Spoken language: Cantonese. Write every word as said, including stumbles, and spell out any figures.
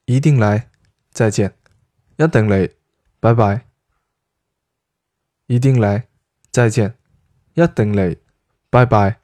一定来，再见。一定嚟，拜拜。一定嚟，再见。一定嚟，拜拜。